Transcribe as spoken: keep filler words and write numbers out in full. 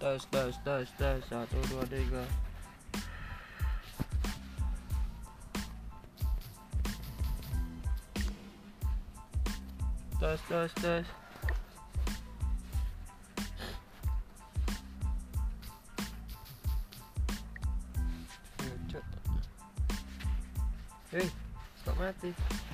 Tes tes tes tes satu dua tiga. Tes tes tes. Hei, stop mati.